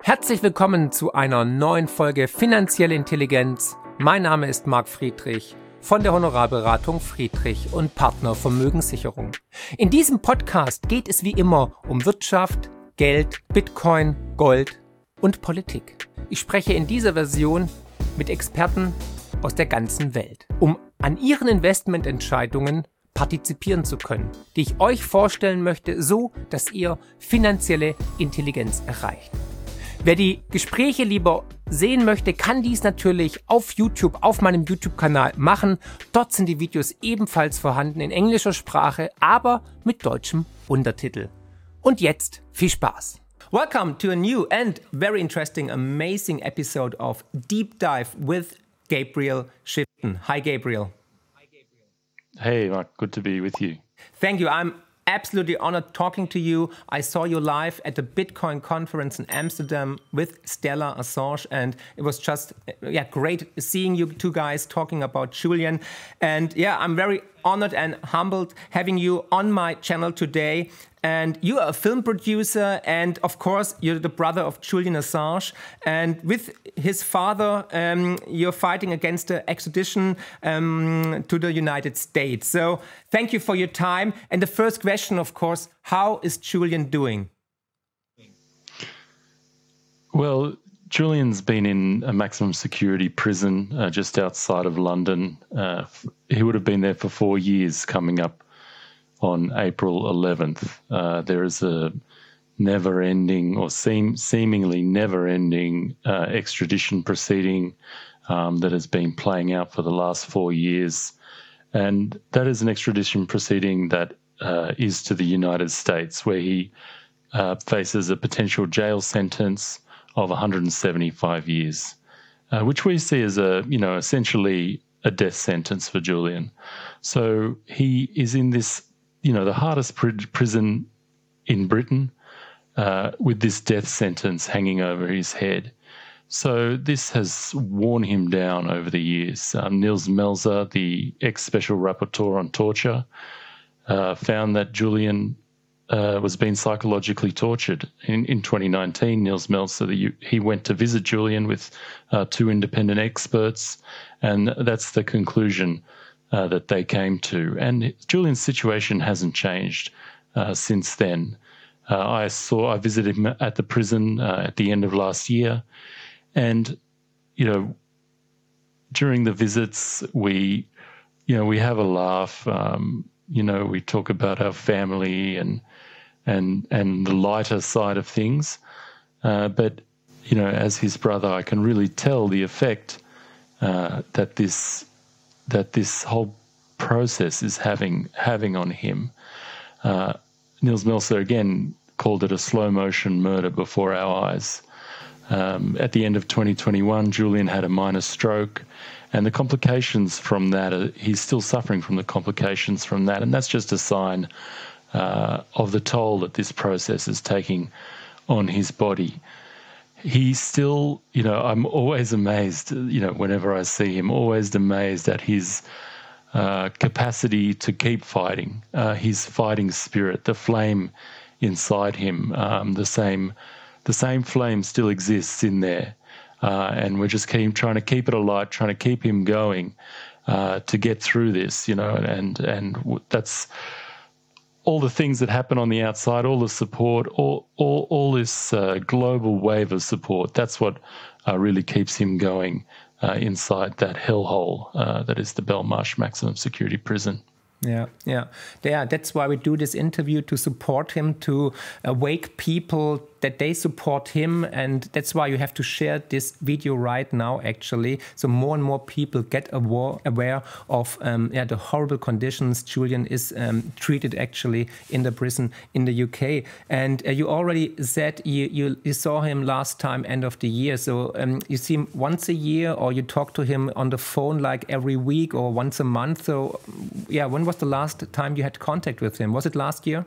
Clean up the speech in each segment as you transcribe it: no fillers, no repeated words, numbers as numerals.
Herzlich willkommen zu einer neuen Folge Finanzielle Intelligenz. Mein Name ist Marc Friedrich von der Honorarberatung Friedrich und Partner Vermögenssicherung. In diesem Podcast geht es wie immer um Wirtschaft, Geld, Bitcoin, Gold und Politik. Ich spreche in dieser Version mit Experten aus der ganzen Welt, um an ihren Investmententscheidungen partizipieren zu können, die ich euch vorstellen möchte, so dass ihr finanzielle Intelligenz erreicht. Wer die Gespräche lieber sehen möchte, kann dies natürlich auf YouTube, auf meinem YouTube-Kanal machen. Dort sind die Videos ebenfalls vorhanden in englischer Sprache, aber mit deutschem Untertitel. Und jetzt viel Spaß! Welcome to a new and very interesting, amazing episode of Deep Dive with Gabriel Shipton. Hi, Gabriel. Hey, Mark. Good to be with you. Thank you. I'm absolutely honored talking to you. I saw you live at the Bitcoin conference in Amsterdam with Stella Assange, and it was just great seeing you two guys talking about Julian. And I'm very honored and humbled having you on my channel today. And you are a film producer, and of course, you're the brother of Julian Assange. And with his father, you're fighting against the extradition to the United States. So thank you for your time. And the first question, of course, how is Julian doing? Well, Julian's been in a maximum security prison just outside of London. He would have been there for 4 years coming up on April 11th. There is a never-ending or seemingly never-ending extradition proceeding that has been playing out for the last 4 years. And that is an extradition proceeding that is to the United States, where he faces a potential jail sentence of 175 years, which we see as essentially a death sentence for Julian. So he is in this the hardest prison in Britain with this death sentence hanging over his head. So this has worn him down over the years. Nils Melzer, the ex-special rapporteur on torture, found that Julian was being psychologically tortured. In 2019, Nils Melzer, he went to visit Julian with 2 independent experts, and that's the conclusion that they came to. And Julian's situation hasn't changed since then. I visited him at the prison at the end of last year, and during the visits we have a laugh. We talk about our family and the lighter side of things. But as his brother, I can really tell the effect that this whole process is having on him. Nils Melzer again called it a slow motion murder before our eyes. At the end of 2021, Julian had a minor stroke, and the complications from that, he's still suffering from the complications from that, and that's just a sign of the toll that this process is taking on his body. He's still, I'm always amazed, whenever I see him, always amazed at his capacity to keep fighting, his fighting spirit, the flame inside him, the same flame still exists in there. And we're just trying to keep it alight, trying to keep him going to get through this, and that's all the things that happen on the outside, all the support, all this global wave of support. That's what really keeps him going inside that hellhole that is the Belmarsh Maximum Security Prison. Yeah. That's why we do this interview, to support him, to wake people that they support him, and that's why you have to share this video right now, actually, so more and more people get aware of the horrible conditions Julian is treated actually in the prison in the UK. And you already said you saw him last time end of the year, so you see him once a year, or you talk to him on the phone like every week or once a month. So when was the last time you had contact with him? Was it last year?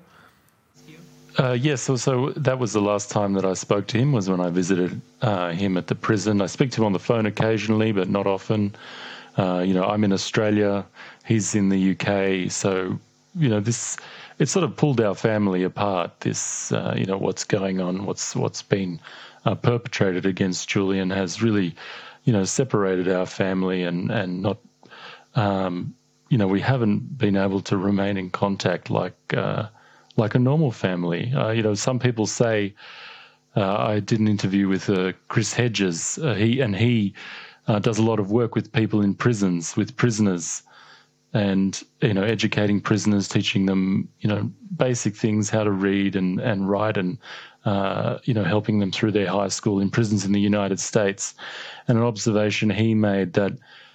Yes, so that was the last time that I spoke to him, was when I visited him at the prison. I speak to him on the phone occasionally, but not often. I'm in Australia, he's in the UK, so this it sort of pulled our family apart. This, what's going on, what's been perpetrated against Julian has really, separated our family and not, we haven't been able to remain in contact like a normal family. Some people say, I did an interview with Chris Hedges. He does a lot of work with people in prisons, with prisoners, and educating prisoners, teaching them basic things, how to read and write, and helping them through their high school in prisons in the United States. And an observation he made that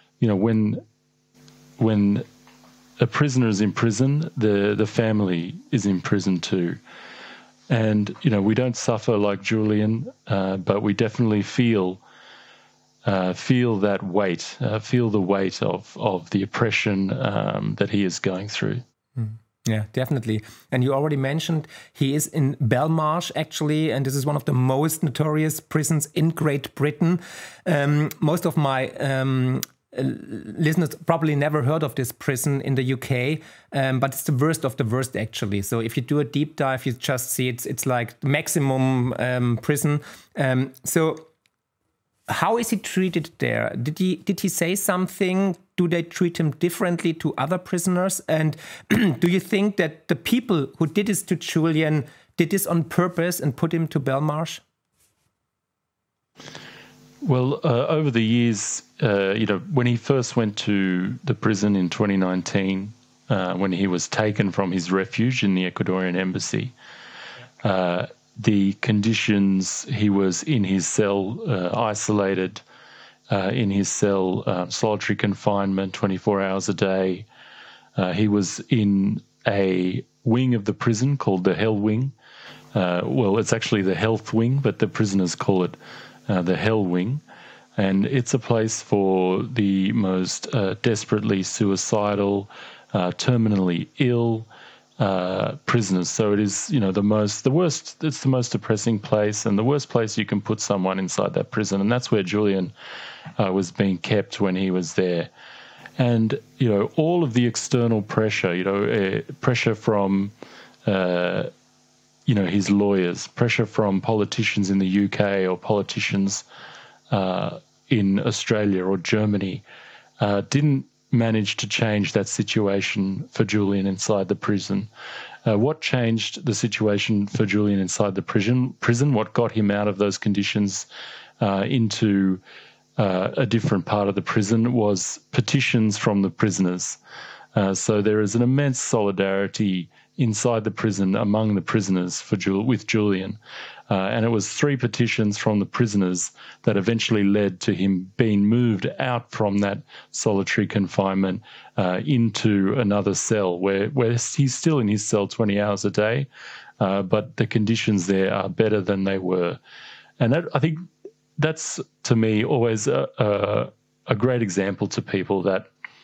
when a prisoner is in prison, the family is in prison too. And we don't suffer like Julian, but we definitely feel that weight, feel the weight of the oppression that he is going through. Yeah, definitely. And you already mentioned he is in Belmarsh, actually, and this is one of the most notorious prisons in Great Britain. Most of my listeners probably never heard of this prison in the UK, but it's the worst of the worst, actually. So if you do a deep dive, you just see it's like maximum prison. So how is he treated there? Did he say something? Do they treat him differently to other prisoners? And do you think that the people who did this to Julian did this on purpose and put him to Belmarsh? Well, over the years, when he first went to the prison in 2019, when he was taken from his refuge in the Ecuadorian embassy, the conditions, he was in his cell, isolated in his cell, solitary confinement, 24 hours a day. He was in a wing of the prison called the Hell Wing. It's actually the Health Wing, but the prisoners call it the Hell Wing. And it's a place for the most desperately suicidal, terminally ill prisoners. So it is, the worst, it's the most depressing place and the worst place you can put someone inside that prison. And that's where Julian was being kept when he was there. And, all of the external pressure, pressure from, his lawyers, pressure from politicians in the UK or politicians in Australia or Germany, didn't manage to change that situation for Julian inside the prison. What changed the situation for Julian inside the prison, what got him out of those conditions into a different part of the prison was petitions from the prisoners. So there is an immense solidarity inside the prison among the prisoners with Julian. And it was 3 petitions from the prisoners that eventually led to him being moved out from that solitary confinement into another cell where he's still in his cell 20 hours a day, but the conditions there are better than they were. And I think that's, to me, always a great example to people that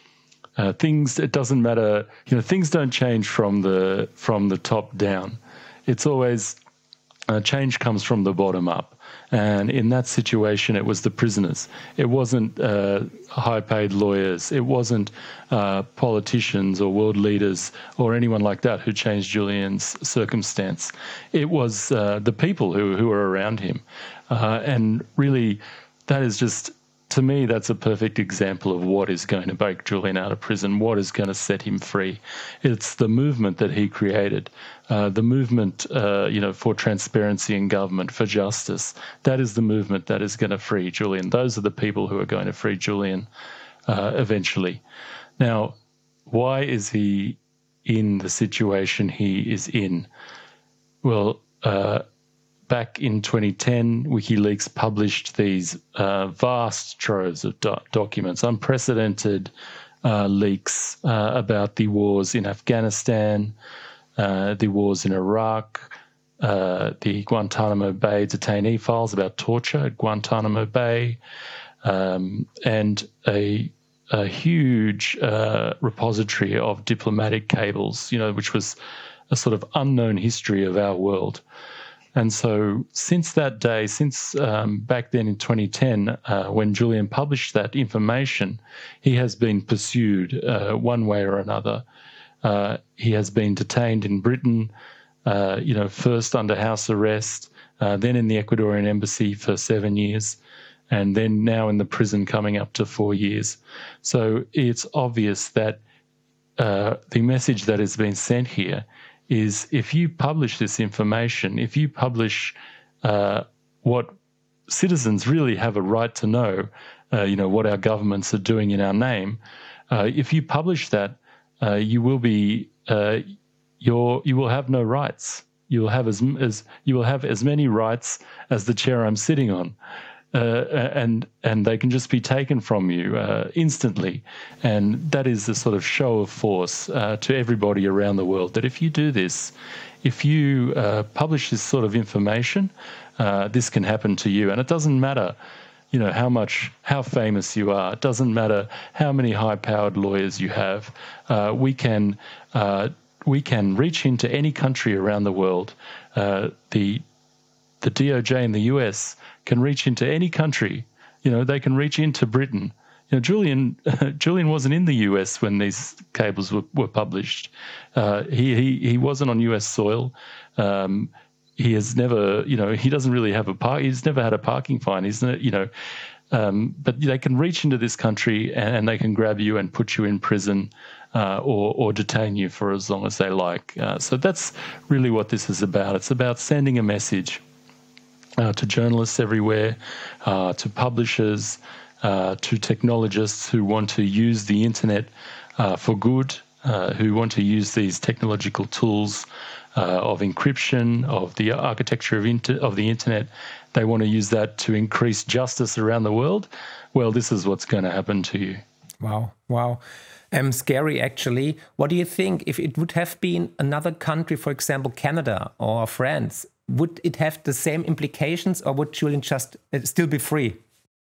it doesn't matter, things don't change from the top down. It's always change comes from the bottom up. And in that situation, it was the prisoners. It wasn't high-paid lawyers. It wasn't politicians or world leaders or anyone like that who changed Julian's circumstance. It was the people who were around him. And really, that is just, to me, that's a perfect example of what is going to break Julian out of prison, what is going to set him free. It's the movement that he created, the movement, for transparency in government, for justice. That is the movement that is going to free Julian. Those are the people who are going to free Julian eventually. Now, why is he in the situation he is in? Well, back in 2010, WikiLeaks published these vast troves of documents, unprecedented leaks about the wars in Afghanistan, the wars in Iraq, the Guantanamo Bay detainee files about torture at Guantanamo Bay, and a huge repository of diplomatic cables, which was a sort of unknown history of our world. And so since that day, back then in 2010, when Julian published that information, he has been pursued one way or another he has been detained in Britain, first under house arrest, then in the Ecuadorian embassy for 7 years, and then now in the prison coming up to 4 years. So it's obvious that the message that has been sent here is, if you publish this information, if you publish what citizens really have a right to know, what our governments are doing in our name, if you publish that, you will be you will have no rights. You will have as many rights as the chair I'm sitting on. And they can just be taken from you instantly. And that is a sort of show of force to everybody around the world, that if you do this, if you publish this sort of information, this can happen to you. And it doesn't matter, how famous you are. It doesn't matter how many high-powered lawyers you have. We can reach into any country around the world. The DOJ in the US can reach into any country. They can reach into Britain. Julian wasn't in the US when these cables were published. He wasn't on US soil. He has never, he doesn't really have he's never had a parking fine. But they can reach into this country and they can grab you and put you in prison or detain you for as long as they like. So that's really what this is about. It's about sending a message to journalists everywhere, to publishers, to technologists who want to use the internet for good, who want to use these technological tools of encryption, of the architecture of the internet. They want to use that to increase justice around the world. Well, this is what's going to happen to you. Wow. Scary, actually. What do you think if it would have been another country, for example, Canada or France? Would it have the same implications, or would Julian just still be free?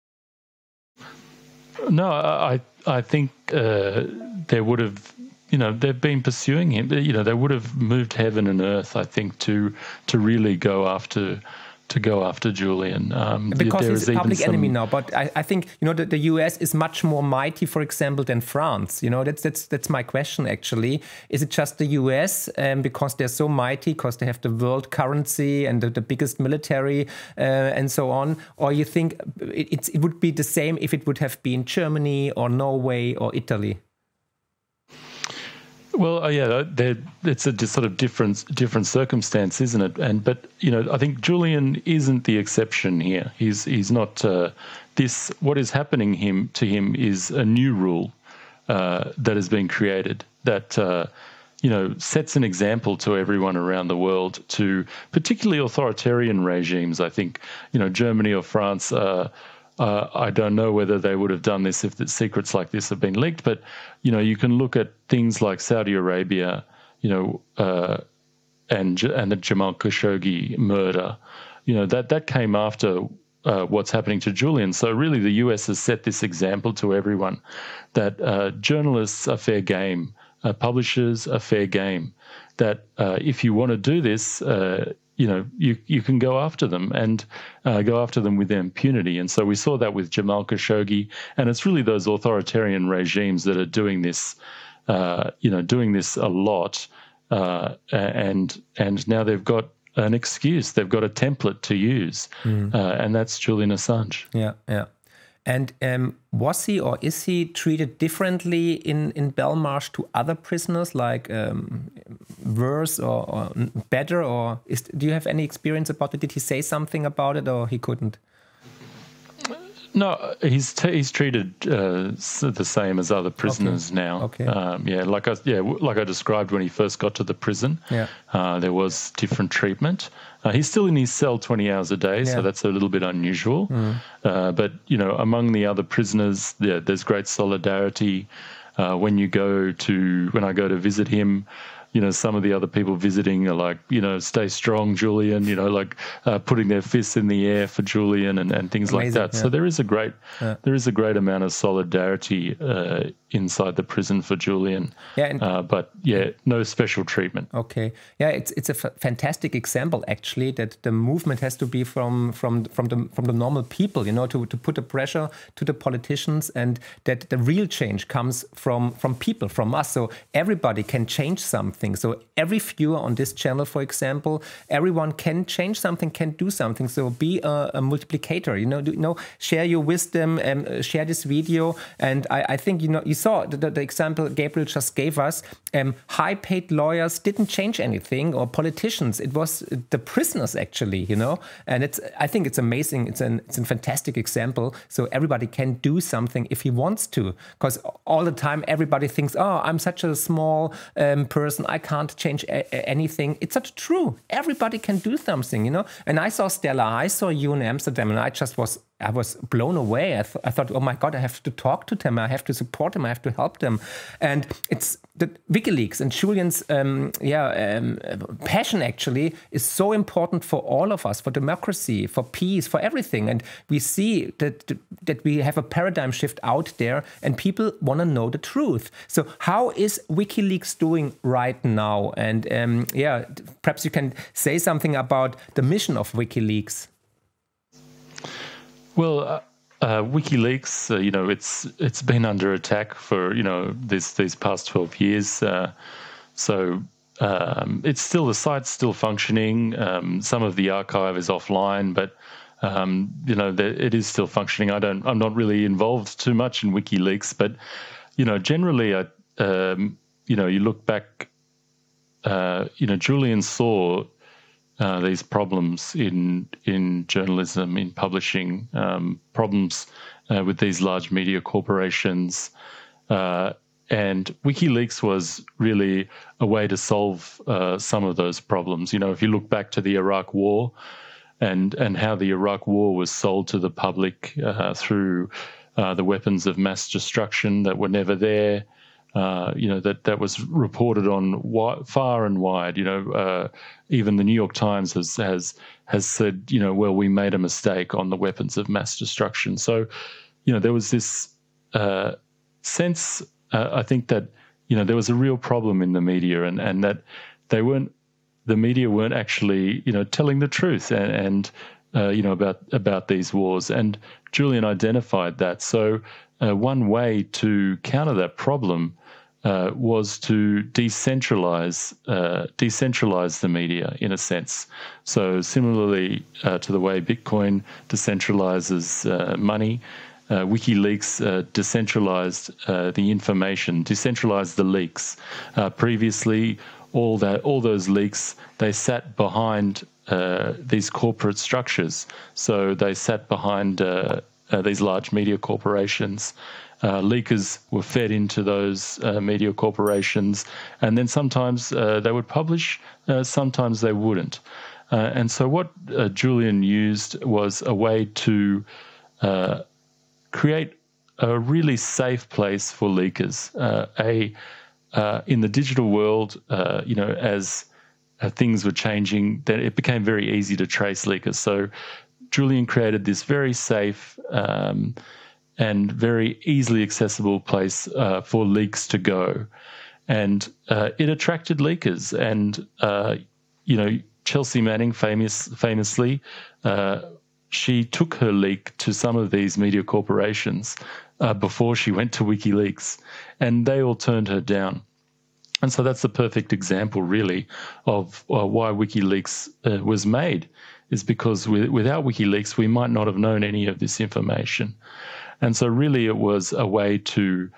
No, I think there would have, they've been pursuing him. They would have moved heaven and earth, I think, to really go after Julian. Because he's a public enemy now. But I think, the US is much more mighty, for example, than France. That's my question, actually. Is it just the US because they're so mighty, because they have the world currency and the biggest military and so on? Or you think it would be the same if it would have been Germany or Norway or Italy? Well, it's a sort of different circumstance, isn't it? But I think Julian isn't the exception here. He's not. What is happening to him is a new rule that has been created that sets an example to everyone around the world, to particularly authoritarian regimes. I think Germany or France. I don't know whether they would have done this if the secrets like this have been leaked, but you can look at things like Saudi Arabia, and the Jamal Khashoggi murder. That came after what's happening to Julian. So really, the US has set this example to everyone that journalists are fair game, publishers are fair game. That if you want to do this. You can go after them and go after them with impunity. And so we saw that with Jamal Khashoggi, and it's really those authoritarian regimes that are doing this, doing this a lot. And now they've got an excuse, they've got a template to use, and that's Julian Assange. Yeah. And was he or is he treated differently in Belmarsh to other prisoners, like worse or better? Or do you have any experience about it? Did he say something about it, or he couldn't? No, he's treated the same as other prisoners now. Okay. Like I described when he first got to the prison. Yeah. There was different treatment. He's still in his cell 20 hours a day, so that's a little bit unusual. But among the other prisoners, there's great solidarity. When I go to visit him, some of the other people visiting are like, stay strong, Julian, putting their fists in the air for Julian and things like that. Yeah. So there is a great amount of solidarity inside the prison for Julian. Yeah, but no special treatment. Okay. Yeah, it's a fantastic example actually that the movement has to be from the normal people, to put the pressure to the politicians, and that the real change comes from people, from us. So everybody can change something. So every viewer on this channel, for example, everyone can change something, can do something. So be a multiplicator, share your wisdom, share this video. And I think, you saw the example Gabriel just gave us. High-paid lawyers didn't change anything, or politicians. It was the prisoners actually, And I think it's amazing. It's a fantastic example. So everybody can do something if he wants to, because all the time everybody thinks, oh, I'm such a small person, I can't change anything. It's not true. Everybody can do something, And I saw Stella, I saw you in Amsterdam, and I was blown away. I thought, oh my God, I have to talk to them. I have to support them. I have to help them. And it's the WikiLeaks and Julian's passion actually is so important for all of us, for democracy, for peace, for everything. And we see that we have a paradigm shift out there, and people want to know the truth. So how is WikiLeaks doing right now? And perhaps you can say something about the mission of WikiLeaks. Well, WikiLeaks, it's been under attack for these past 12 years. It's the site's still functioning. Some of the archive is offline, but it is still functioning. I'm not really involved too much in WikiLeaks, but generally, you look back. Julian saw these problems in journalism, in publishing, problems with these large media corporations. And WikiLeaks was really a way to solve some of those problems. If you look back to the Iraq War and how the Iraq War was sold to the public through the weapons of mass destruction that were never there, that was reported on far and wide. Even the New York Times has said, well, we made a mistake on the weapons of mass destruction. So, there was this sense, I think that, there was a real problem in the media, and that the media weren't actually, telling the truth and about these wars. And Julian identified that. So one way to counter that problem was to decentralize the media in a sense. So similarly to the way Bitcoin decentralizes money, WikiLeaks decentralized the information, decentralized the leaks. Previously, all those leaks, they sat behind these corporate structures. So they sat behind these large media corporations. Leakers were fed into those media corporations, and then sometimes they would publish, sometimes they wouldn't. And so what Julian used was a way to create a really safe place for leakers. In the digital world, as things were changing, then it became very easy to trace leakers. So Julian created this very safe and very easily accessible place for leaks to go. And it attracted leakers. And, Chelsea Manning famously, she took her leak to some of these media corporations before she went to WikiLeaks, and they all turned her down. And so that's the perfect example, really, of why WikiLeaks was made, is because without WikiLeaks, we might not have known any of this information. And so really it was a way to,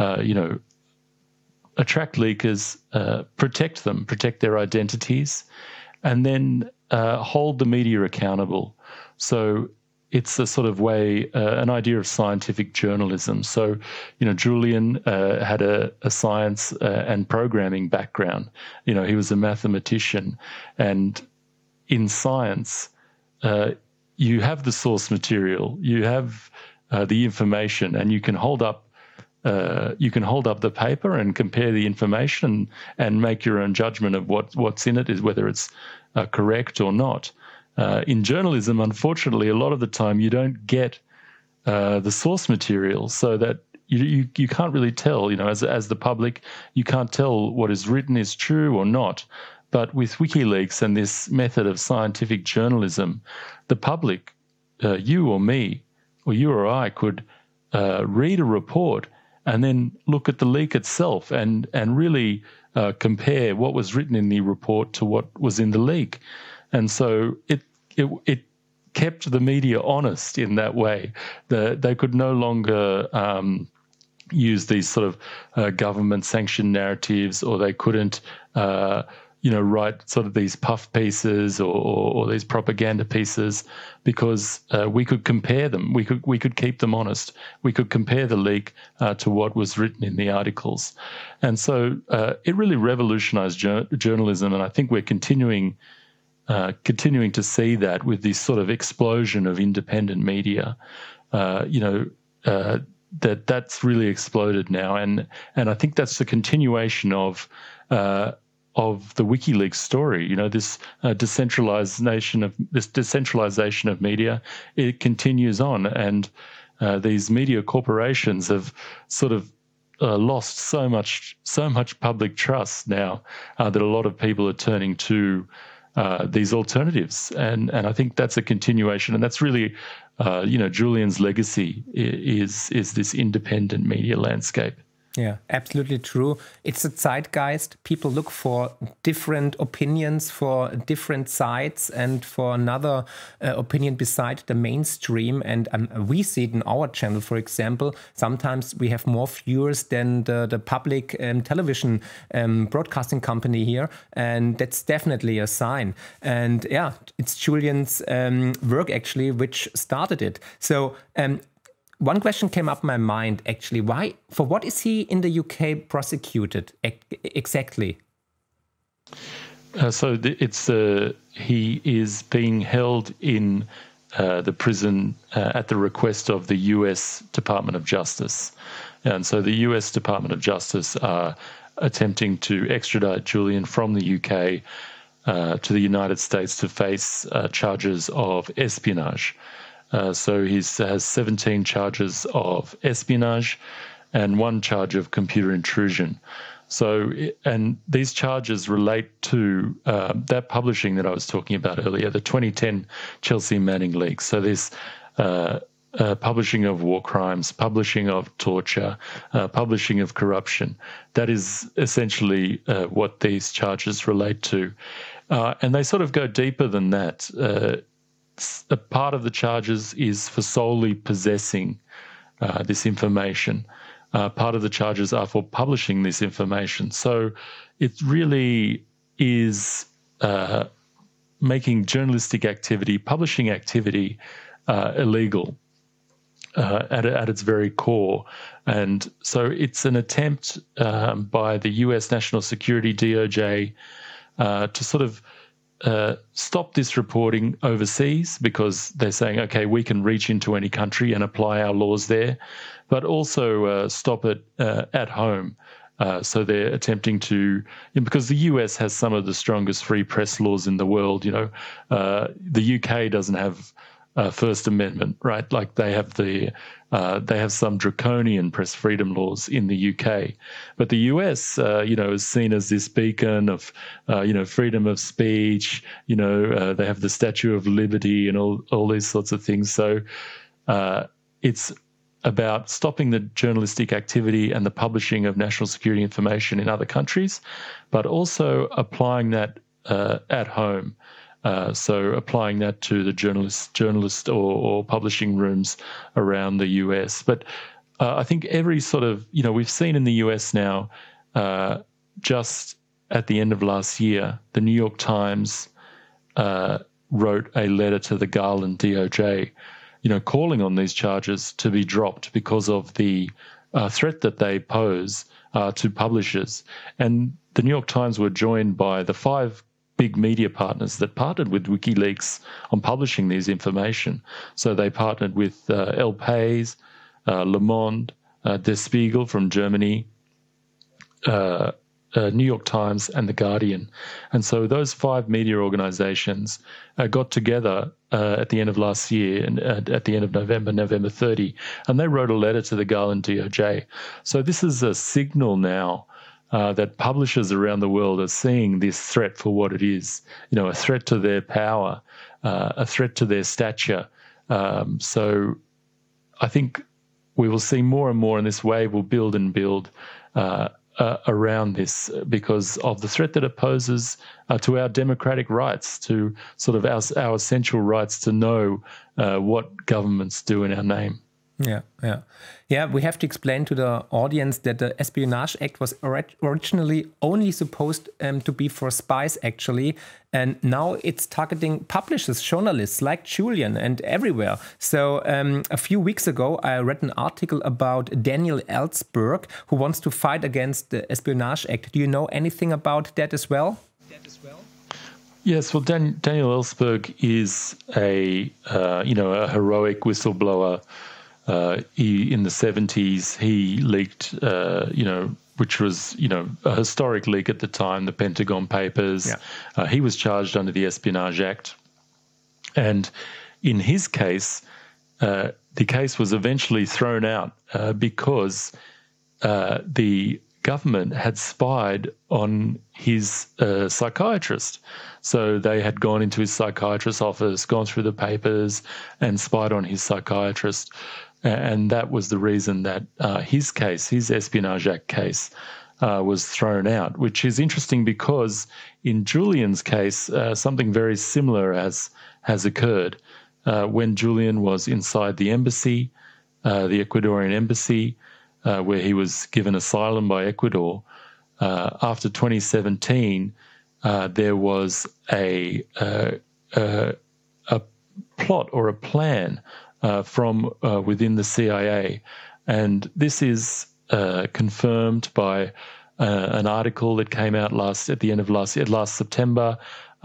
attract leakers, protect their identities, and then hold the media accountable. So it's a sort of way, an idea of scientific journalism. So, Julian had a science and programming background. He was a mathematician. And in science, you have the source material, you have the information, and you can hold up you can hold up the paper and compare the information and make your own judgment of what's in it, is whether it's correct or not. In journalism, unfortunately, a lot of the time you don't get the source material, so that you can't really tell. As the public, you can't tell what is written is true or not. But with WikiLeaks and this method of scientific journalism, the public, you or me, or you or I, could read a report and then look at the leak itself and really compare what was written in the report to what was in the leak. And so it kept the media honest in that way. They could no longer use these sort of government-sanctioned narratives, or they couldn't write sort of these puff pieces or these propaganda pieces, because we could compare them. We could keep them honest. We could compare the leak to what was written in the articles. And so it really revolutionized journalism, and I think we're continuing to see that with this sort of explosion of independent media. That's really exploded now, and I think that's the continuation of the WikiLeaks story. This decentralization of media, it continues on, and these media corporations have sort of lost so much public trust now that a lot of people are turning to these alternatives, and I think that's a continuation, and that's really Julian's legacy is this independent media landscape. Yeah, absolutely true. It's a zeitgeist. People look for different opinions, for different sides, and for another opinion beside the mainstream. And we see it in our channel, for example. Sometimes we have more viewers than the public television broadcasting company here. And that's definitely a sign. And yeah, it's Julian's work, actually, which started it. So one question came up in my mind, actually. For what is he in the UK prosecuted exactly? He is being held in the prison at the request of the US Department of Justice. And so the US Department of Justice are attempting to extradite Julian from the UK to the United States to face charges of espionage. So he has 17 charges of espionage and 1 charge of computer intrusion. So, and these charges relate to that publishing that I was talking about earlier, the 2010 Chelsea Manning leaks. So there's publishing of war crimes, publishing of torture, publishing of corruption. That is essentially what these charges relate to. And they sort of go deeper than that. A part of the charges is for solely possessing this information. Part of the charges are for publishing this information. So it really is making journalistic activity, publishing activity, illegal at its very core. And so it's an attempt by the US National Security, DOJ, to sort of stop this reporting overseas, because they're saying, okay, we can reach into any country and apply our laws there, but also stop it at home. So they're attempting to, because the US has some of the strongest free press laws in the world. The UK doesn't have First Amendment, right? Like they have some draconian press freedom laws in the UK, but the US, is seen as this beacon of, freedom of speech. They have the Statue of Liberty and all these sorts of things. So it's about stopping the journalistic activity and the publishing of national security information in other countries, but also applying that at home. So applying that to the journalist or publishing rooms around the US. But I think every sort of, we've seen in the US now, just at the end of last year, the New York Times wrote a letter to the Garland DOJ, calling on these charges to be dropped because of the threat that they pose to publishers. And the New York Times were joined by the 5 big media partners that partnered with WikiLeaks on publishing these information. So they partnered with El País, Le Monde, Der Spiegel from Germany, New York Times, and The Guardian. And so those 5 media organizations got together at the end of last year, and at the end of November 30, and they wrote a letter to the Garland DOJ. So this is a signal now that publishers around the world are seeing this threat for what it is, a threat to their power, a threat to their stature. So I think we will see more and more, and this wave will build and build around this because of the threat that it poses to our democratic rights, to sort of our essential rights to know what governments do in our name. Yeah, we have to explain to the audience that the Espionage Act was originally only supposed to be for spies, actually. And now it's targeting publishers, journalists like Julian and everywhere. So a few weeks ago, I read an article about Daniel Ellsberg, who wants to fight against the Espionage Act. Do you know anything about that as well? Yes, well, Daniel Ellsberg is a heroic whistleblower. In the 70s, he leaked, which was, a historic leak at the time, the Pentagon Papers. Yeah. He was charged under the Espionage Act. And in his case, the case was eventually thrown out because the government had spied on his psychiatrist. So they had gone into his psychiatrist's office, gone through the papers, and spied on his psychiatrist. And that was the reason that his case, his Espionage Act case, was thrown out, which is interesting because in Julian's case, something very similar has occurred. When Julian was inside the embassy, the Ecuadorian embassy, where he was given asylum by Ecuador, after 2017, there was a plot or a plan from within the CIA. And this is confirmed by an article that came out at the end of last September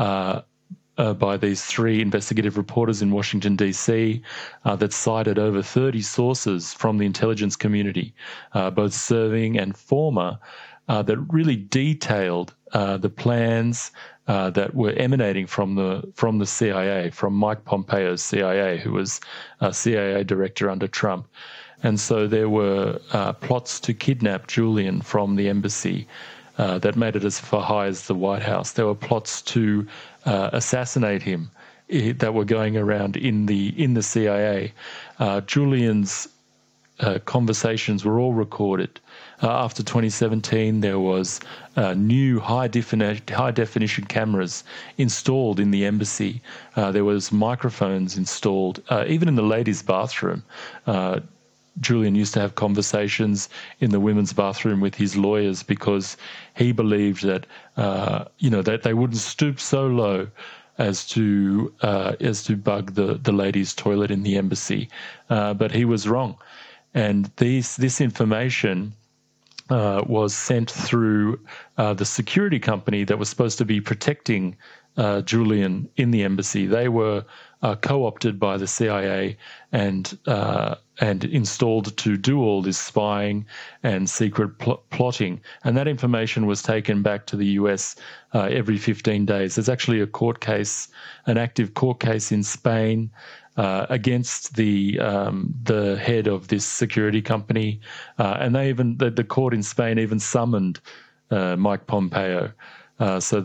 by these 3 investigative reporters in Washington, D.C. That cited over 30 sources from the intelligence community, both serving and former, that really detailed the plans that were emanating from the CIA, from Mike Pompeo's CIA, who was a CIA director under Trump. And so there were plots to kidnap Julian from the embassy that made it as far high as the White House. There were plots to assassinate him that were going around in the CIA. Julian's conversations were all recorded. After 2017, there was new high-definition cameras installed in the embassy. There was microphones installed, even in the ladies' bathroom. Julian used to have conversations in the women's bathroom with his lawyers because he believed that that they wouldn't stoop so low as to bug the ladies' toilet in the embassy, but he was wrong. And this information was sent through the security company that was supposed to be protecting Julian in the embassy. They were co-opted by the CIA and installed to do all this spying and secret plotting. And that information was taken back to the US every 15 days. There's actually an active court case in Spain against the head of this security company, and the court in Spain even summoned Mike Pompeo. So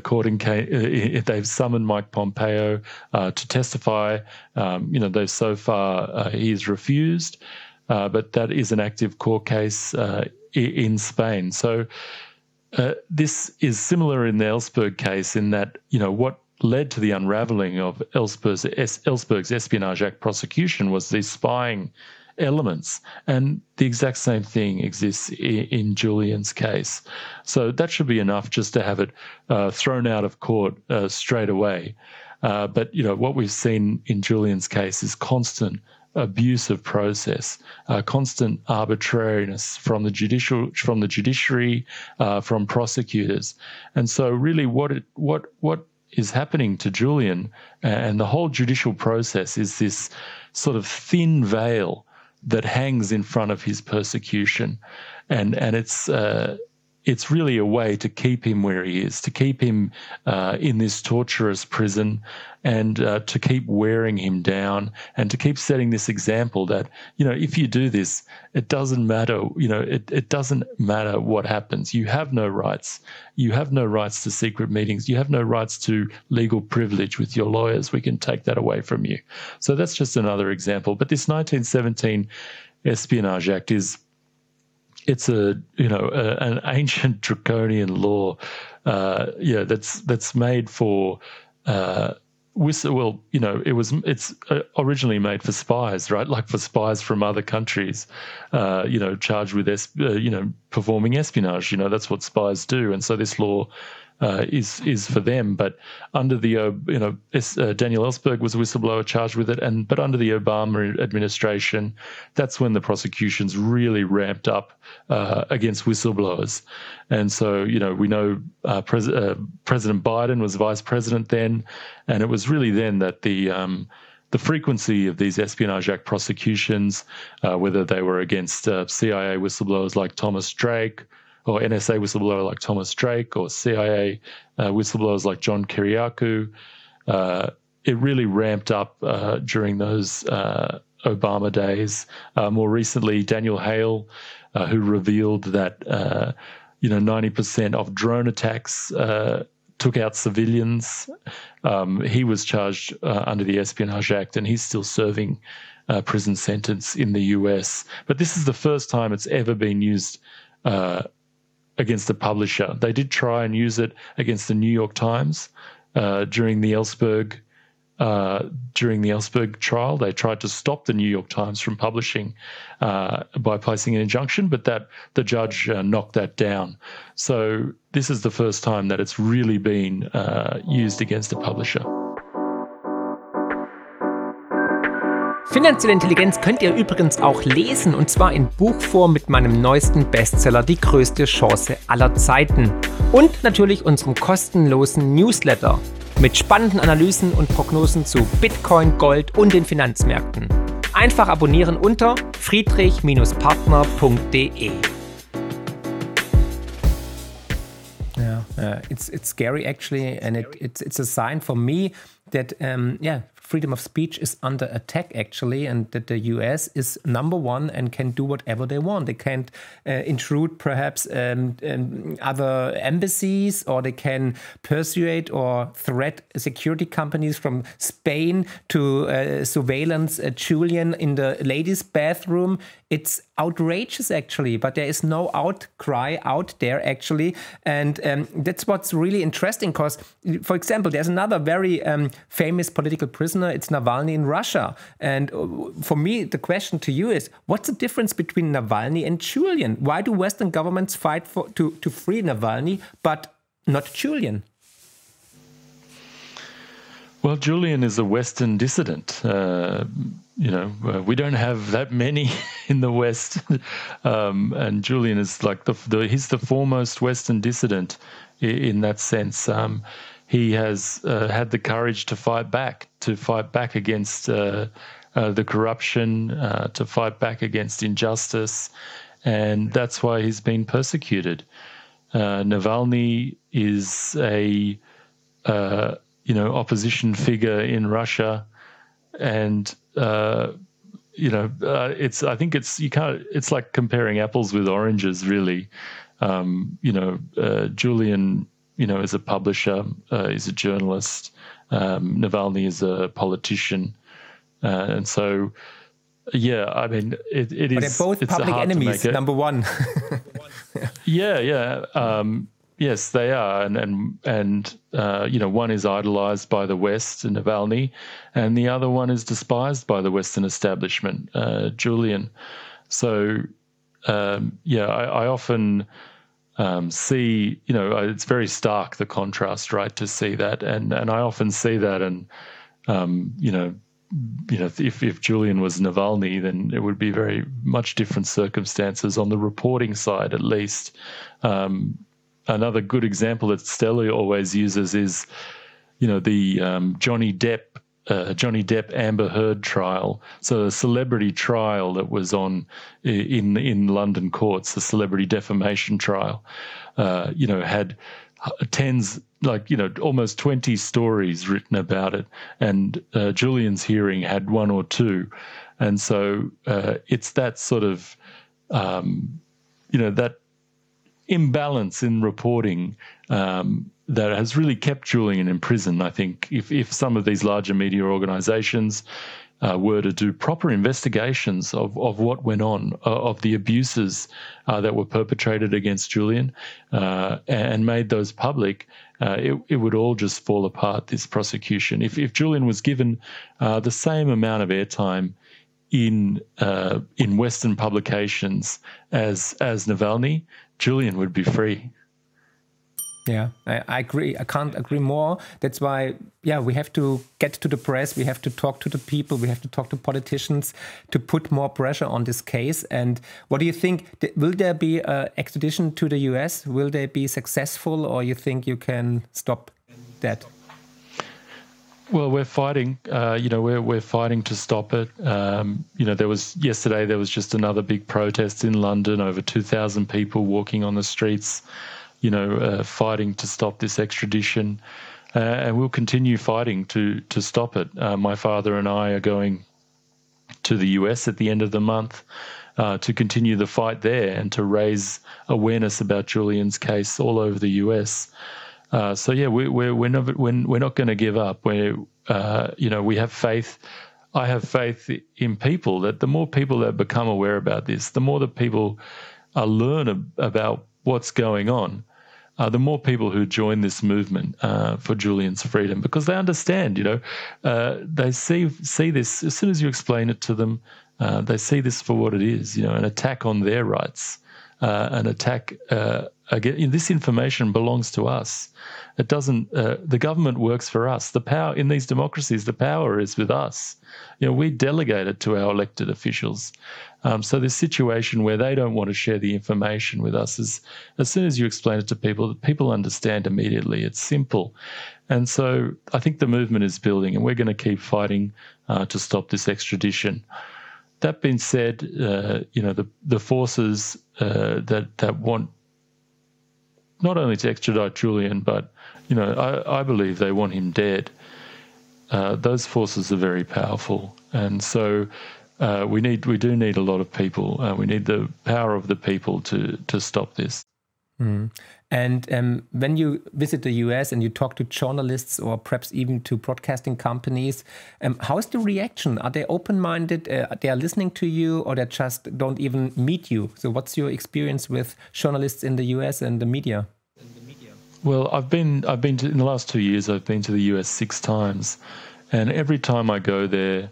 they've summoned Mike Pompeo to testify. So far he's refused, but that is an active court case in Spain. So this is similar in the Ellsberg case in that what led to the unraveling of Ellsberg's Espionage Act prosecution was these spying elements, and the exact same thing exists in Julian's case. So that should be enough just to have it thrown out of court straight away. But what we've seen in Julian's case is constant abuse of process, constant arbitrariness from the judiciary, from prosecutors, and so really what is happening to Julian and the whole judicial process is this sort of thin veil that hangs in front of his persecution, and it's really a way to keep him where he is, to keep him in this torturous prison, and to keep wearing him down, and to keep setting this example that, if you do this, it doesn't matter, it doesn't matter what happens. You have no rights. You have no rights to secret meetings. You have no rights to legal privilege with your lawyers. We can take that away from you. So that's just another example. But this 1917 Espionage Act it's an ancient draconian law, that's made for it's originally made for spies, right? Like for spies from other countries, charged with performing espionage. That's what spies do, and so this law is for them. But under the Daniel Ellsberg was a whistleblower charged with it, but under the Obama administration, that's when the prosecutions really ramped up against whistleblowers. And so we know President Biden was vice president then, and it was really then that the frequency of these Espionage Act prosecutions, whether they were against CIA whistleblowers like Thomas Drake, or NSA whistleblower like Thomas Drake, or CIA whistleblowers like John Kiriakou, it really ramped up during those Obama days. More recently, Daniel Hale, who revealed that 90% of drone attacks took out civilians. He was charged under the Espionage Act, and he's still serving a prison sentence in the US. But this is the first time it's ever been used against a publisher. They did try and use it against the New York Times during the Ellsberg trial. They tried to stop the New York Times from publishing by placing an injunction, but the judge knocked that down. So this is the first time that it's really been used against a publisher. Finanzielle Intelligenz könnt ihr übrigens auch lesen, und zwar in Buchform mit meinem neuesten Bestseller Die größte Chance aller Zeiten. Und natürlich unserem kostenlosen Newsletter mit spannenden Analysen und Prognosen zu Bitcoin, Gold und den Finanzmärkten. Einfach abonnieren unter friedrich-partner.de. It's scary actually, and it's a sign for me that freedom of speech is under attack actually, and that the US is number one and can do whatever they want. They can't intrude perhaps other embassies, or they can persuade or threat security companies from Spain to surveillance Julian in the ladies' bathroom. It's outrageous actually, but there is no outcry out there actually, and that's what's really interesting, because, for example, there's another very famous political prisoner. It's Navalny in Russia, and for me the question to you is, what's the difference between Navalny and Julian? Why do Western governments fight to free Navalny but not Julian? Well, Julian is a Western dissident. We don't have that many in the West, and Julian is like he's the foremost Western dissident in that sense. He has had the courage to fight back against the corruption, to fight back against injustice, and that's why he's been persecuted. Navalny is a opposition figure in Russia, and it's like comparing apples with oranges, really. Julian, is a publisher, is a journalist. Navalny is a politician, and so it is. But they're both public enemies. Number one. Yes, they are, and one is idolized by the West, Navalny, and the other one is despised by the Western establishment, Julian. So, I often see, it's very stark, the contrast, right, to see that, and I often see that, and if Julian was Navalny, then it would be very much different circumstances on the reporting side, at least. Another good example that Stella always uses is, the Johnny Depp Johnny Depp Amber Heard trial, so a celebrity trial that was on in London courts, the celebrity defamation trial, had tens, almost 20 stories written about it, and Julian's hearing had one or two, and so it's that sort of that imbalance in reporting that has really kept Julian in prison. I think if some of these larger media organisations were to do proper investigations of what went on, of the abuses that were perpetrated against Julian, and made those public, it would all just fall apart, this prosecution. If Julian was given the same amount of airtime in Western publications as Navalny, Julian would be free. Yeah, I agree. I can't agree more. That's why, we have to get to the press. We have to talk to the people. We have to talk to politicians to put more pressure on this case. And what do you think? Will there be an extradition to the US? Will they be successful, or you think you can stop that? Well, we're fighting. We're fighting to stop it. There was just another big protest in London. Over 2,000 people walking on the streets, fighting to stop this extradition, and we'll continue fighting to stop it. My father and I are going to the US at the end of the month to continue the fight there and to raise awareness about Julian's case all over the US. We're not going to give up. We have faith. I have faith in people, that the more people that become aware about this, the more that people learn about what's going on, the more people who join this movement for Julian's freedom, because they understand. They see this as soon as you explain it to them. They see this for what it is. An attack on their rights, an attack. Again, this information belongs to us. It doesn't. The government works for us. The power in these democracies, the power is with us. We delegate it to our elected officials. So this situation where they don't want to share the information with us is, as soon as you explain it to people, people understand immediately. It's simple. And so I think the movement is building, and we're going to keep fighting to stop this extradition. That being said, the forces that want not only to extradite Julian, but I believe they want him dead. Those forces are very powerful, and so we do need a lot of people. We need the power of the people to stop this. Mm. And when you visit the US and you talk to journalists or perhaps even to broadcasting companies, how is the reaction? Are they open-minded? They are listening to you, or they just don't even meet you? So what's your experience with journalists in the US and the media? Well, I've been in the last 2 years, I've been to the US 6 times, and every time I go there,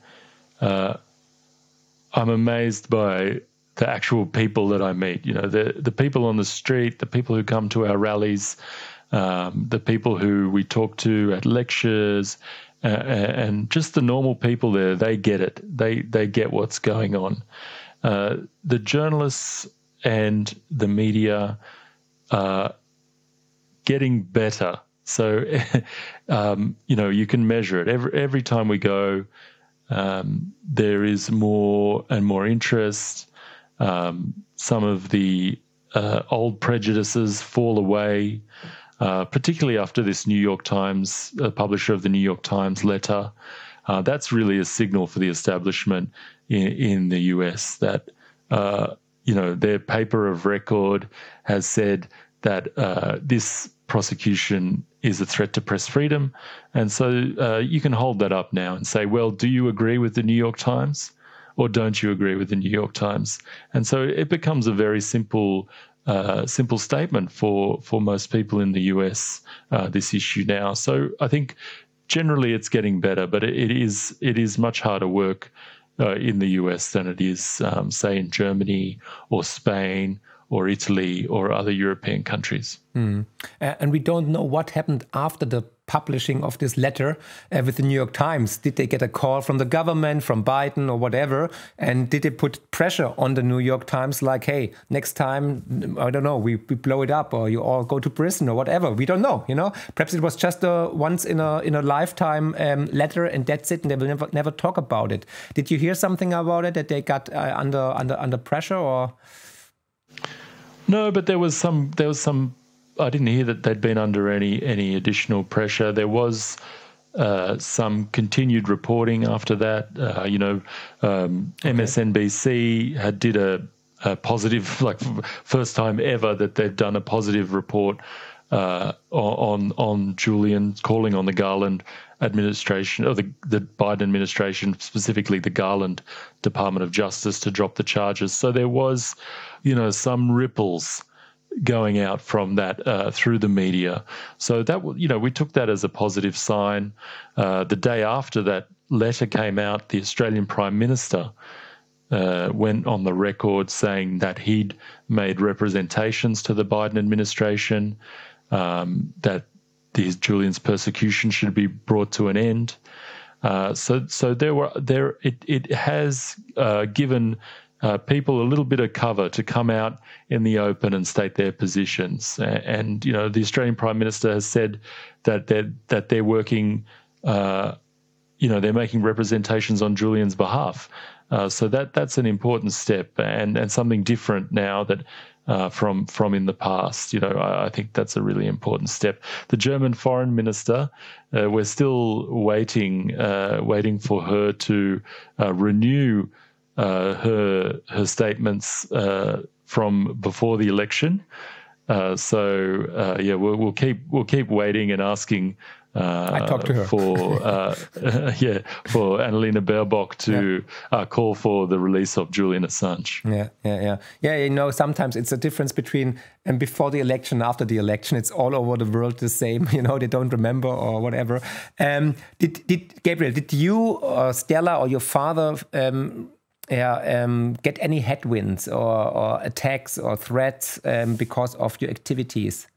I'm amazed by the actual people that I meet. The people on the street, the people who come to our rallies, the people who we talk to at lectures, and just the normal people there. They get it. They get what's going on. The journalists and the media are getting better. So, you can measure it. Every time we go, there is more and more interest. Some of the old prejudices fall away, particularly after this New York Times, publisher of the New York Times letter. That's really a signal for the establishment in the US that, their paper of record has said that this prosecution is a threat to press freedom. And so you can hold that up now and say, well, do you agree with the New York Times? Or don't you agree with the New York Times? And so it becomes a very simple statement for most people in the US, this issue now. So I think generally it's getting better, but it is much harder work in the US than it is, say, in Germany or Spain or Italy or other European countries. And we don't know what happened after the publishing of this letter with the New York Times? Did they get a call from the government, from Biden or whatever? And did they put pressure on the New York Times like, hey, next time, I don't know, we blow it up or you all go to prison or whatever? We don't know, Perhaps it was just a once in a lifetime letter and that's it, and they will never talk about it. Did you hear something about it, that they got under pressure or? No, but there was some. I didn't hear that they'd been under any additional pressure. There was some continued reporting after that. MSNBC did a positive, like first time ever that they've done a positive report on Julian, calling on the Garland administration, or the Biden administration, specifically the Garland Department of Justice, to drop the charges. So there was, some ripples going out from that through the media. So that, we took that as a positive sign. The day after that letter came out, the Australian Prime Minister went on the record saying that he'd made representations to the Biden administration, that Julian's persecution should be brought to an end. So it has given people a little bit of cover to come out in the open and state their positions. And the Australian Prime Minister has said that they're working, they're making representations on Julian's behalf. So that's an important step and something different now that from in the past. I think that's a really important step. The German foreign minister, we're still waiting for her to renew her statements from before the election. We'll keep waiting and asking. I talked to her for Annalena Baerbock to call for the release of Julian Assange. Yeah. Sometimes it's a difference between before the election, after the election. It's all over the world the same. They don't remember or whatever. Gabriel, did you or Stella or your father get any headwinds or attacks or threats because of your activities?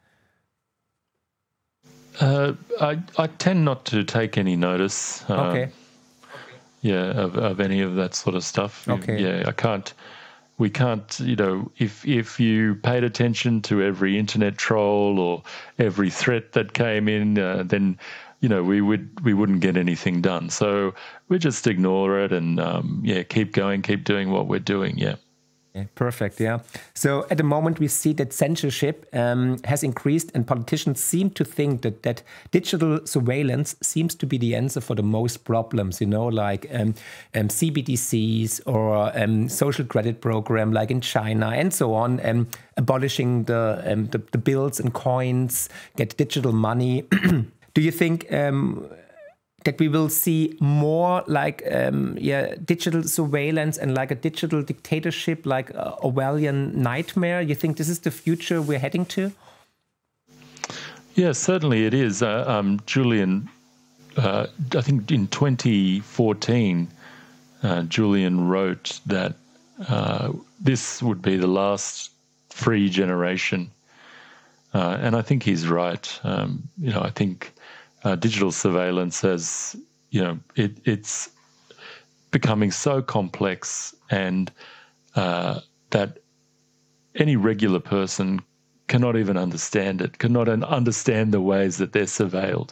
I tend not to take any notice. Okay. Of any of that sort of stuff. Okay. Yeah, we can't, if you paid attention to every internet troll or every threat that came in, then, we wouldn't get anything done. So we just ignore it and, keep going, keep doing what we're doing. Yeah. Yeah, perfect. Yeah. So at the moment we see that censorship has increased, and politicians seem to think that digital surveillance seems to be the answer for the most problems. Like CBDCs or social credit program, like in China, and so on. Abolishing the bills and coins, get digital money. Do you think that we will see more like digital surveillance and like a digital dictatorship, like a Orwellian nightmare? You think this is the future we're heading to? Yeah, certainly it is. Julian, I think in 2014, Julian wrote that this would be the last free generation. And I think he's right. I think digital surveillance has, it's becoming so complex, and that any regular person cannot even understand it, cannot understand the ways that they're surveilled.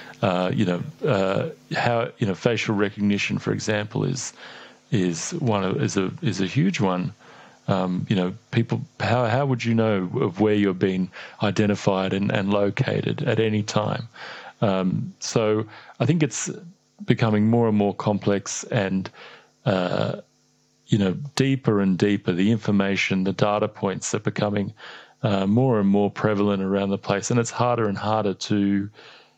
How facial recognition, for example, is a huge one. People, how would you know of where you're being identified and located at any time? So I think it's becoming more and more complex and, deeper and deeper. The information, the data points are becoming more and more prevalent around the place, and it's harder and harder to,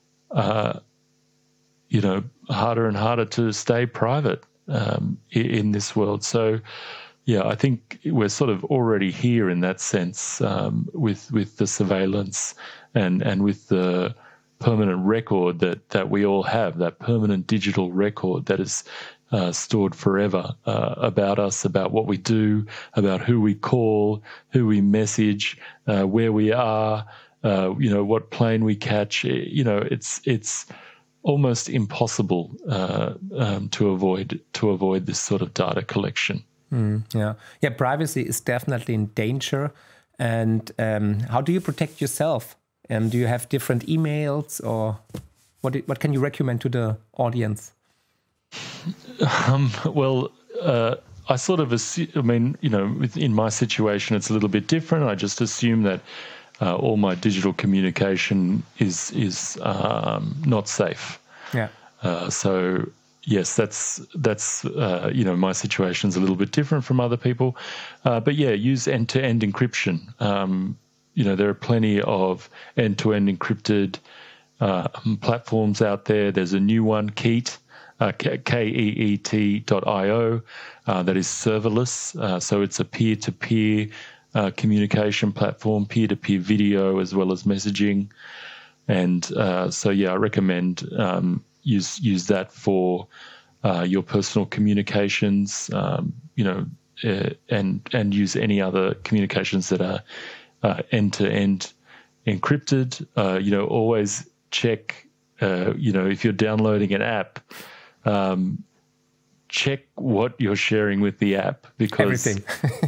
stay private in this world. So, yeah, I think we're sort of already here in that sense with the surveillance and with the permanent record that we all have, that permanent digital record that is stored forever about us, about what we do, about who we call, who we message, where we are, what plane we catch. It's almost impossible to avoid this sort of data collection. Yeah. Privacy is definitely in danger. And how do you protect yourself? Do you have different emails, or what can you recommend to the audience? I sort of assume, in my situation, it's a little bit different. I just assume that all my digital communication is not safe. Yeah. So yes, that's my situation's a little bit different from other people. But yeah, use end-to-end encryption. There are plenty of end-to-end encrypted platforms out there. There's a new one, Keet. KEET.io, that is serverless. So it's a peer-to-peer communication platform, peer-to-peer video as well as messaging. And I recommend use that for your personal communications, and use any other communications that are end-to-end encrypted. Always check, if you're downloading an app, check what you're sharing with the app, because everything.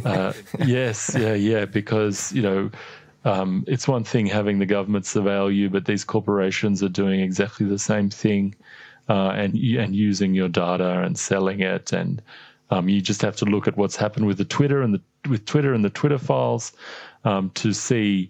Because it's one thing having the government surveil you, but these corporations are doing exactly the same thing, and using your data and selling it. And you just have to look at what's happened with Twitter and the Twitter files to see,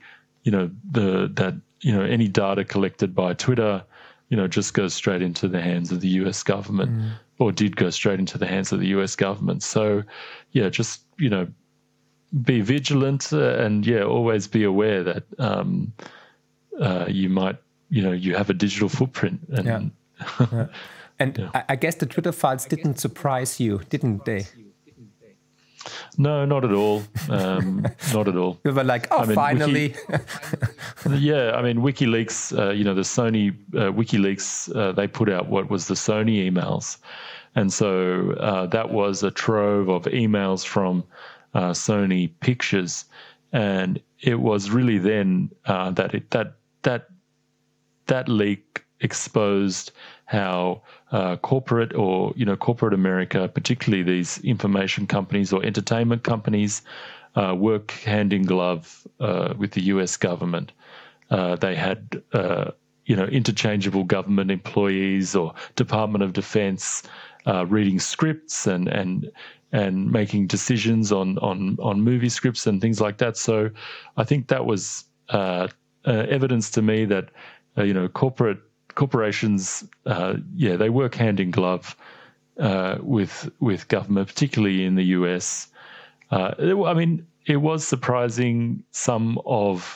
any data collected by Twitter, just goes straight into the hands of the US government, or did go straight into the hands of the US government. So, just, be vigilant and, always be aware that you might, you have a digital footprint. And, And I guess the Twitter files didn't surprise you, didn't they? No, not at all. Not at all. You were like, finally. WikiLeaks, the Sony WikiLeaks, they put out what was the Sony emails. And so that was a trove of emails from Sony Pictures. And it was really then that leak exposed how corporate America, particularly these information companies or entertainment companies, work hand in glove with the US government. They had, interchangeable government employees or Department of Defense reading scripts and making decisions on movie scripts and things like that. So I think that was evidence to me that, corporations, they work hand in glove with government, particularly in the US. It was surprising some of,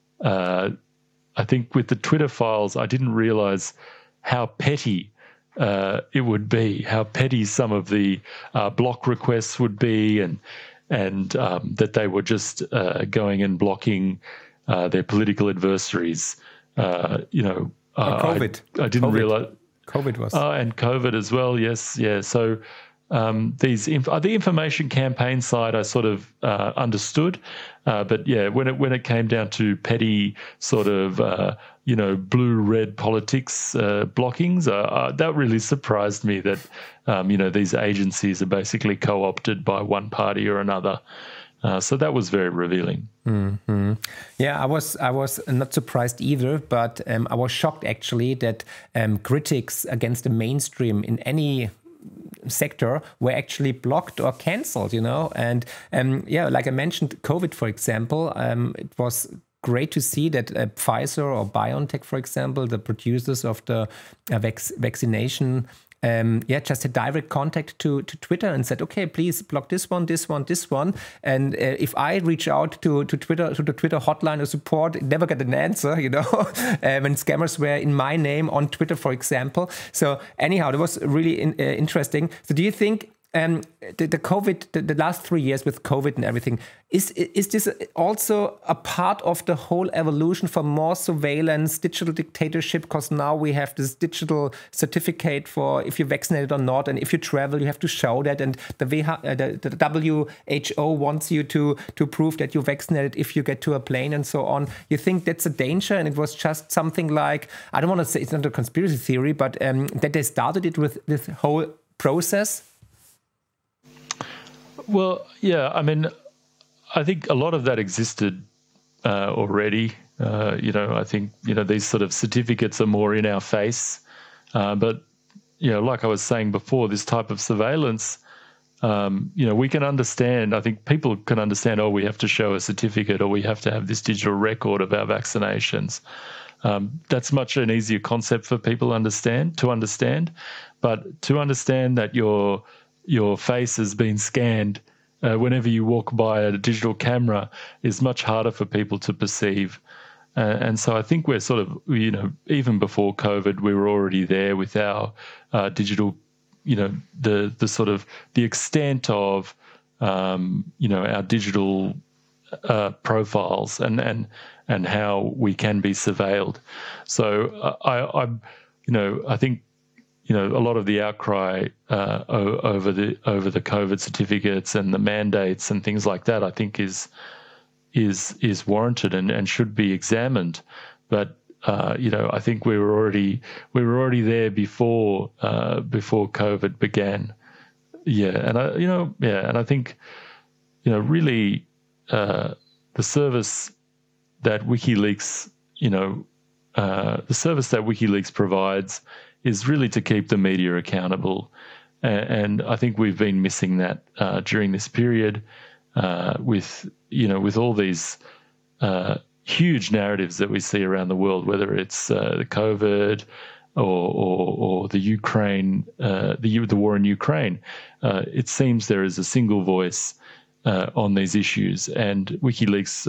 I think with the Twitter files, I didn't realize how petty it would be, how petty some of the block requests would be, and that they were just going and blocking their political adversaries. COVID. I didn't realize COVID was. And COVID as well. Yes, yeah. So the information campaign side, I sort of understood, but when it came down to petty sort of blue-red politics blockings, that really surprised me that these agencies are basically co-opted by one party or another. So that was very revealing. Mm-hmm. Yeah, I was not surprised either, but I was shocked actually that critics against the mainstream in any sector were actually blocked or cancelled, and like I mentioned, COVID, for example, it was great to see that Pfizer or BioNTech, for example, the producers of the vaccination, just had direct contact to Twitter and said, okay, please block this one. And if I reach out to Twitter, to the Twitter hotline or support, never get an answer, when scammers were in my name on Twitter, for example. So anyhow, that was really interesting. So do you think the COVID, the last 3 years with COVID and everything, is this also a part of the whole evolution for more surveillance, digital dictatorship? Because now we have this digital certificate for if you're vaccinated or not, and if you travel, you have to show that, and the WHO wants you to prove that you're vaccinated if you get to a plane and so on. You think that's a danger, and it was just something like, I don't want to say it's not a conspiracy theory, but that they started it with this whole process? Well, yeah, I mean, I think a lot of that existed already. I think, these sort of certificates are more in our face. But, like I was saying before, this type of surveillance, we can understand, I think people can understand, we have to show a certificate or we have to have this digital record of our vaccinations. That's much an easier concept for people to understand. But to understand that your face has been scanned whenever you walk by a digital camera is much harder for people to perceive. And so I think we're sort of, even before COVID, we were already there with our digital, the sort of the extent of, our digital profiles and how we can be surveilled. So I think, a lot of the outcry over the COVID certificates and the mandates and things like that, I think is warranted and should be examined. But I think we were already there before COVID began. And I think really the service that WikiLeaks provides is really to keep the media accountable. And I think we've been missing that during this period with all these huge narratives that we see around the world, whether it's the COVID or the Ukraine, the war in Ukraine. It seems there is a single voice on these issues, and WikiLeaks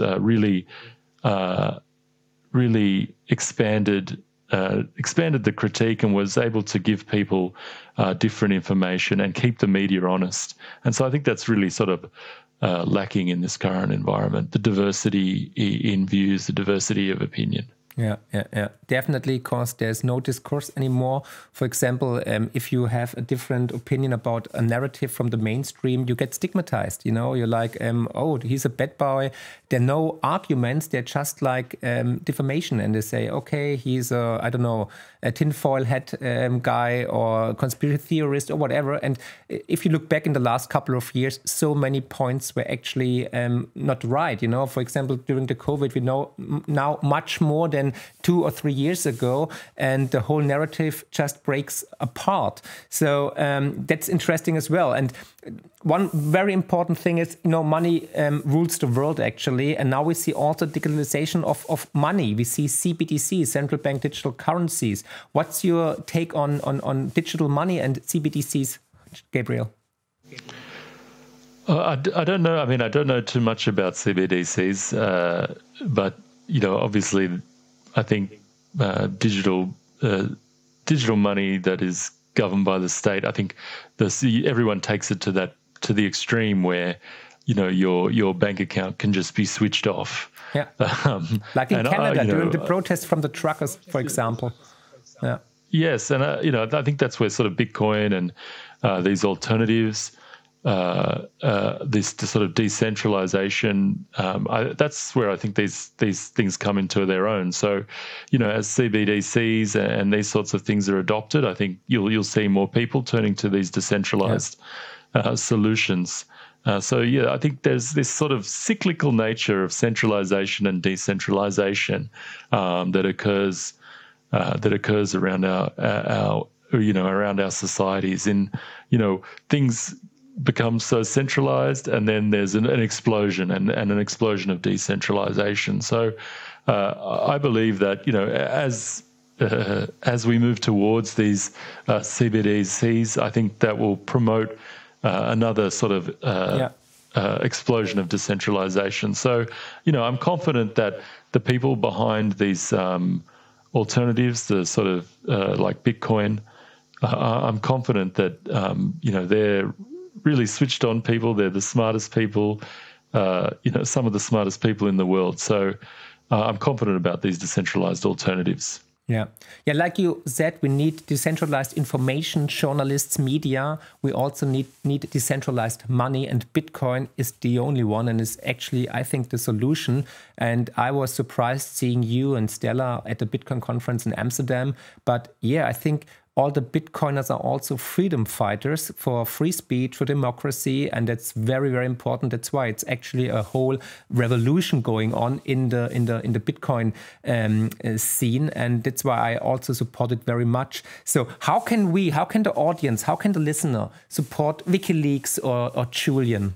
really expanded the critique and was able to give people different information and keep the media honest. And so I think that's really sort of lacking in this current environment, the diversity in views, the diversity of opinion. Yeah. Definitely, because there's no discourse anymore. For example, if you have a different opinion about a narrative from the mainstream, you get stigmatized. You're like, he's a bad boy. There are no arguments. They're just like defamation. And they say, okay, he's a tinfoil hat guy or conspiracy theorist or whatever. And if you look back in the last couple of years, so many points were actually not right. For example, during the COVID, we know now much more than 2 or 3 years ago, and the whole narrative just breaks apart. So that's interesting as well. And one very important thing is, money rules the world, actually. And now we see also digitalization of money. We see CBDCs, central bank digital currencies. What's your take on digital money and CBDCs, Gabriel? I don't know. I mean, I don't know too much about CBDCs, but, obviously, I think digital money that is governed by the state, I think everyone takes it to the extreme where your bank account can just be switched off. Yeah, like in Canada during the protests from the truckers, for example. Yeah. Yes, and I think that's where sort of Bitcoin and these alternatives, this sort of decentralization, that's where I think these things come into their own. So, as CBDCs and these sorts of things are adopted, I think you'll see more people turning to these decentralized solutions. I think there's this sort of cyclical nature of centralization and decentralization that occurs around our societies. Things become so centralized, and then there's an explosion and an explosion of decentralization. So I believe that as we move towards these CBDCs, I think that will promote another sort of explosion of decentralization. So I'm confident that the people behind these alternatives, the sort of like Bitcoin, I'm confident that they're really switched on people. They're the smartest people, some of the smartest people in the world. So I'm confident about these decentralized alternatives. Yeah, like you said, we need decentralized information, journalists, media. We also need decentralized money, and Bitcoin is the only one and is actually, I think, the solution. And I was surprised seeing you and Stella at the Bitcoin conference in Amsterdam. But yeah, I think all the Bitcoiners are also freedom fighters for free speech, for democracy, and that's very, very important. That's why it's actually a whole revolution going on in the Bitcoin scene, and that's why I also support it very much. So how can the audience, how can the listener support WikiLeaks or Julian?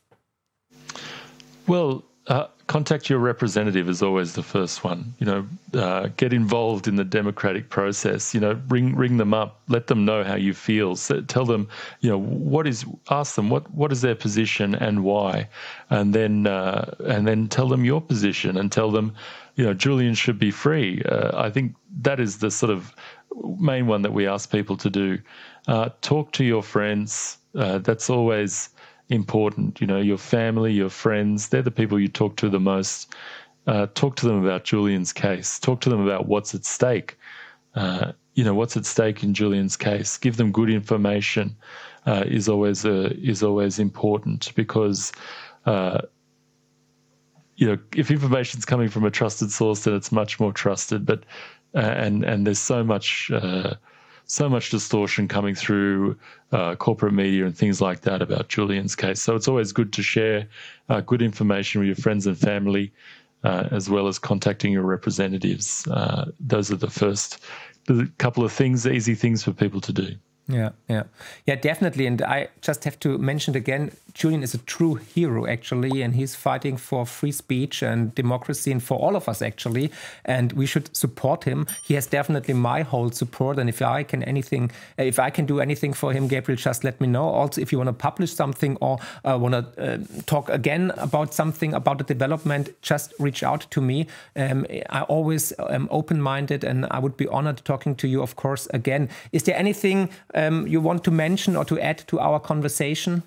Well, contact your representative is always the first one. Get involved in the democratic process. Ring them up, let them know how you feel. Tell them, ask them what is their position and why, and then tell them your position and tell them, Julian should be free. I think that is the sort of main one that we ask people to do. Talk to your friends. That's always important. Your family, your friends, they're the people you talk to the most. Talk to them about Julian's case. Talk to them about what's at stake. What's at stake in Julian's case. Give them good information is always important, because if information's coming from a trusted source, then it's much more trusted. But and there's so much distortion coming through corporate media and things like that about Julian's case. So it's always good to share good information with your friends and family, as well as contacting your representatives. Those are the couple of things, easy things for people to do. Yeah, definitely. And I just have to mention again, Julian is a true hero, actually, and he's fighting for free speech and democracy and for all of us, actually, and we should support him. He has definitely my whole support, and if I can do anything for him, Gabriel, just let me know. Also, if you want to publish something or want to talk again about something about the development, just reach out to me. I always am open-minded, and I would be honored talking to you, of course, again. Is there anything you want to mention or to add to our conversation?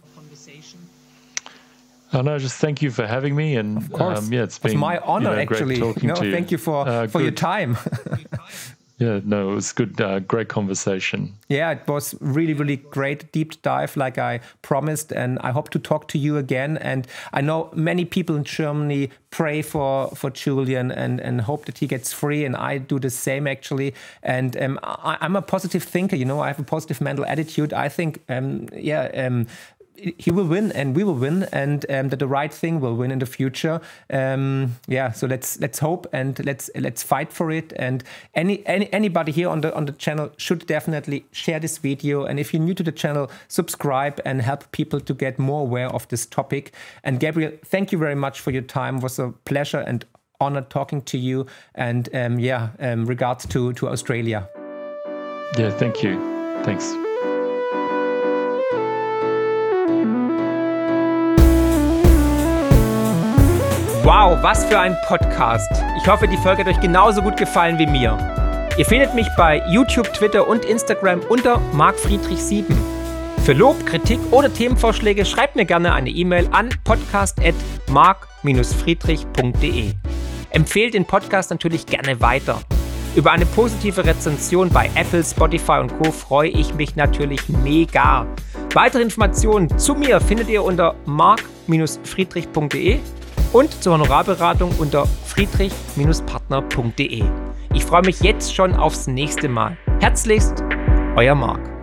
No, just thank you for having me, and of course, it's been my honor, actually. Great talking to you. Thank you for your time. Yeah, no, it was good, great conversation. Yeah, it was really, really great deep dive, like I promised, and I hope to talk to you again. And I know many people in Germany pray for Julian and hope that he gets free, and I do the same, actually. And I'm a positive thinker, I have a positive mental attitude. I think, he will win and we will win, and that the right thing will win in the future. So let's hope and let's fight for it. And anybody here on the channel should definitely share this video. And if you're new to the channel, subscribe and help people to get more aware of this topic. And Gabriel, thank you very much for your time. It was a pleasure and honor talking to you. And regards to Australia. Yeah, thank you. Thanks. Wow, was für ein Podcast. Ich hoffe, die Folge hat euch genauso gut gefallen wie mir. Ihr findet mich bei YouTube, Twitter und Instagram unter markfriedrich7. Für Lob, Kritik oder Themenvorschläge schreibt mir gerne eine E-Mail an podcast@mark-friedrich.de. Empfehlt den Podcast natürlich gerne weiter. Über eine positive Rezension bei Apple, Spotify und Co. freue ich mich natürlich mega. Weitere Informationen zu mir findet ihr unter mark-friedrich.de und zur Honorarberatung unter friedrich-partner.de. Ich freue mich jetzt schon aufs nächste Mal. Herzlichst, euer Mark.